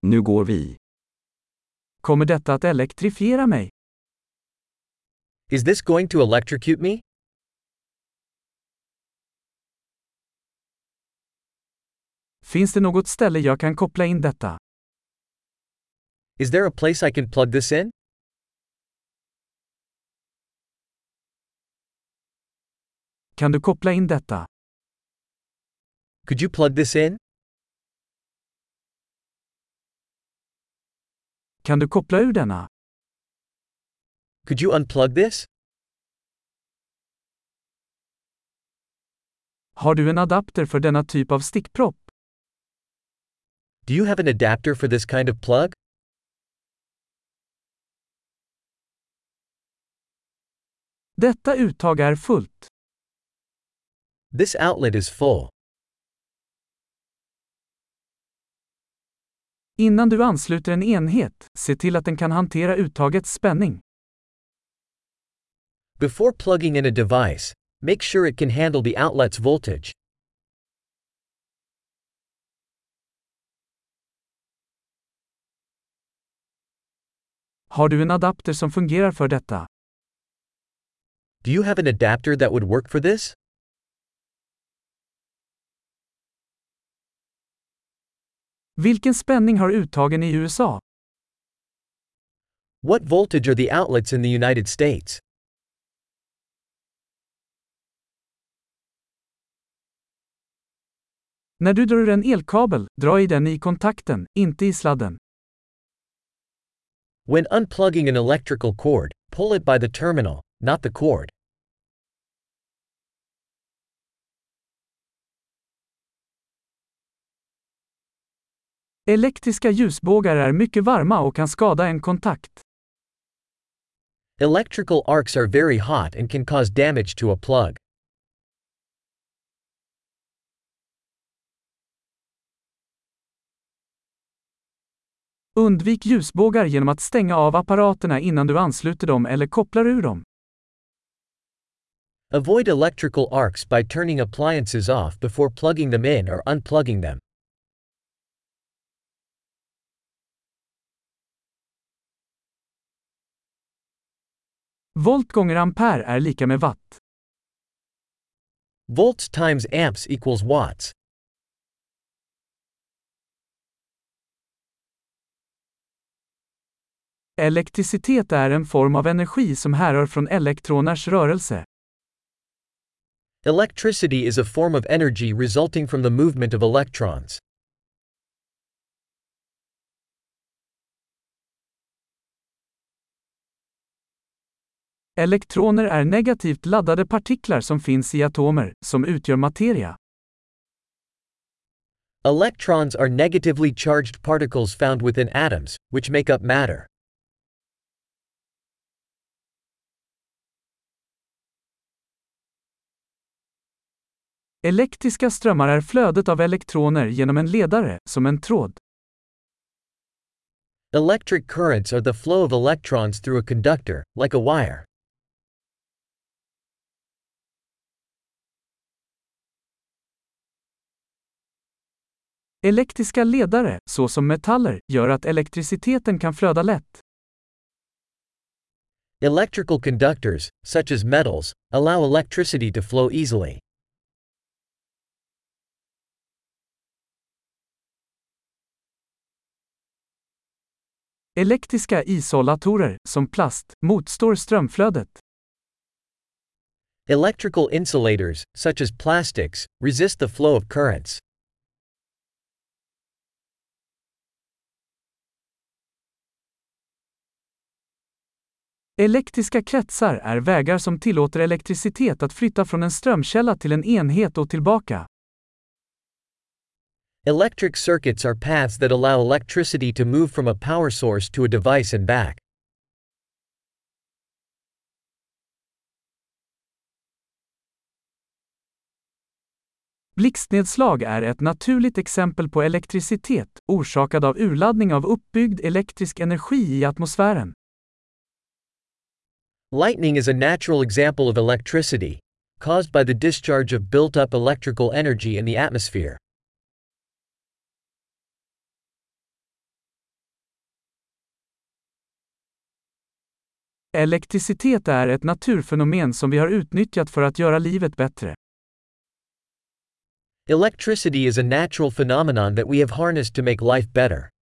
Nu går vi. Kommer detta att elektrifiera mig? Is this going to electrocute me? Finns det något ställe jag kan koppla in detta? Is there a place I can plug this in? Kan du koppla in detta? Could you plug this in? Kan du koppla ur denna? Could you unplug this? Har du en adapter för denna typ av stickpropp? Do you have an adapter for this kind of plug? Detta uttag är fullt. This outlet is full. Innan du ansluter en enhet, se till att den kan hantera uttagets spänning. Before plugging in a device, make sure it can handle the outlet's voltage. Har du en adapter som fungerar för detta? Do you have an adapter that would work for this? Vilken spänning har uttagen i USA? What voltage are the outlets in the United States? När du drar ur en elkabel, dra i den i kontakten, inte i sladden. When unplugging an electrical cord, pull it by the terminal, not the cord. Elektriska ljusbågar är mycket varma och kan skada en kontakt. Electrical arcs are very hot and can cause damage to a plug. Undvik ljusbågar genom att stänga av apparaterna innan du ansluter dem eller kopplar ur dem. Avoid electrical arcs by turning appliances off before plugging them in or unplugging them. Volt gånger ampere är lika med watt. Volts times amps equals watts. Elektricitet är en form av energi som härrör från elektroners rörelse. Electricity is a form of energy resulting from the movement of electrons. Elektroner är negativt laddade partiklar som finns i atomer, som utgör materia. Electrons are negatively charged particles found within atoms, which make up matter. Elektriska strömmar är flödet av elektroner genom en ledare, som en tråd. Electric currents are the flow of electrons through a conductor, like a wire. Elektriska ledare, såsom metaller, gör att elektriciteten kan flöda lätt. Electrical conductors, such as metals, allow electricity to flow easily. Elektriska isolatorer, som plast, motstår strömflödet. Electrical insulators, such as plastics, resist the flow of currents. Elektriska kretsar är vägar som tillåter elektricitet att flytta från en strömkälla till en enhet och tillbaka. Electric circuits are paths that allow electricity to move from a power source to a device and back. Blixtnedslag är ett naturligt exempel på elektricitet, orsakad av urladdning av uppbyggd elektrisk energi i atmosfären. Lightning is a natural example of electricity, caused by the discharge of built-up electrical energy in the atmosphere. Elektricitet är ett naturfenomen som vi har utnyttjat för att göra livet bättre. Electricity is a natural phenomenon that we have harnessed to make life better.